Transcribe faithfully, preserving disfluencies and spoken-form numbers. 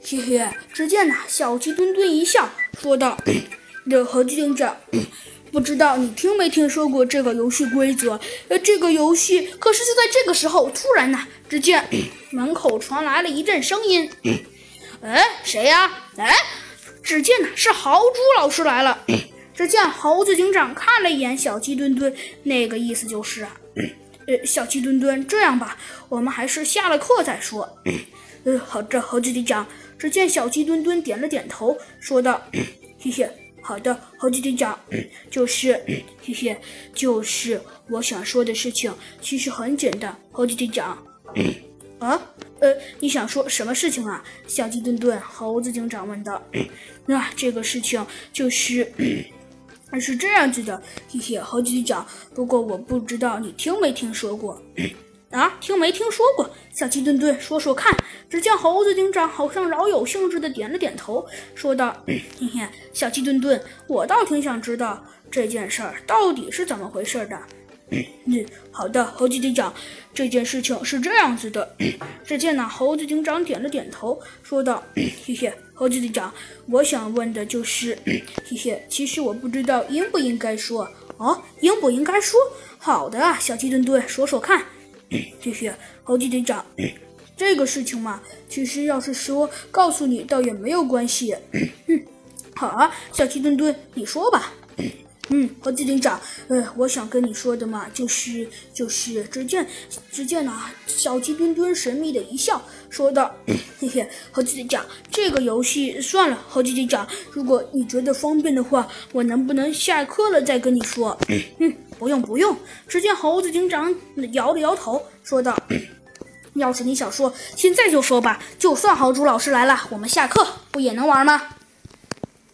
嘿嘿，只见呐，小鸡墩墩一笑，说道：“这何警长，不知道你听没听说过这个游戏规则？呃，这个游戏……可是就在这个时候，突然呐，只见门口传来了一阵声音。哎，谁呀？哎，只见呐，是豪猪老师来了。只见猴子警长看了一眼小鸡墩墩，那个意思就是啊，呃，小鸡墩墩，这样吧，我们还是下了课再说。呃，好的，猴子警长。”只见小鸡墩墩点了点头，说道：“谢谢，好的，猴子警长，就是，谢谢，就是我想说的事情，其实很简单，猴子警长。啊，呃，你想说什么事情啊？”小鸡墩墩，猴子警长问道。那、啊、这个事情就是。是这样子的，谢谢猴子警长。不过我不知道你听没听说过。啊，听没听说过？小鸡墩墩说说看。只见猴子警长好像饶有兴致的点了点头，说道：“嘿嘿，小鸡墩墩，我倒挺想知道这件事儿到底是怎么回事的。”嗯，好的，猴子警长，这件事情是这样子的。只见呢，猴子警长点了点头，说道：“谢谢，猴子警长，我想问的就是，谢谢，其实我不知道应不应该说。哦，应不应该说？好的啊，小鸡墩墩，说说看。”谢谢，猴子警长。这个事情嘛，其实要是说告诉你，倒也没有关系。嗯，好啊，小鸡墩墩，你说吧。嗯，猴子警长，呃，我想跟你说的嘛，就是就是，只见只见啊，小鸡墩墩神秘的一笑，说道：“嘿嘿，猴子警长，这个游戏算了，猴子警长，如果你觉得方便的话，我能不能下课了再跟你说？”嗯，不用不用。只见猴子警长摇了摇头，说道：“要是你想说，现在就说吧，就算豪猪老师来了，我们下课不也能玩吗？”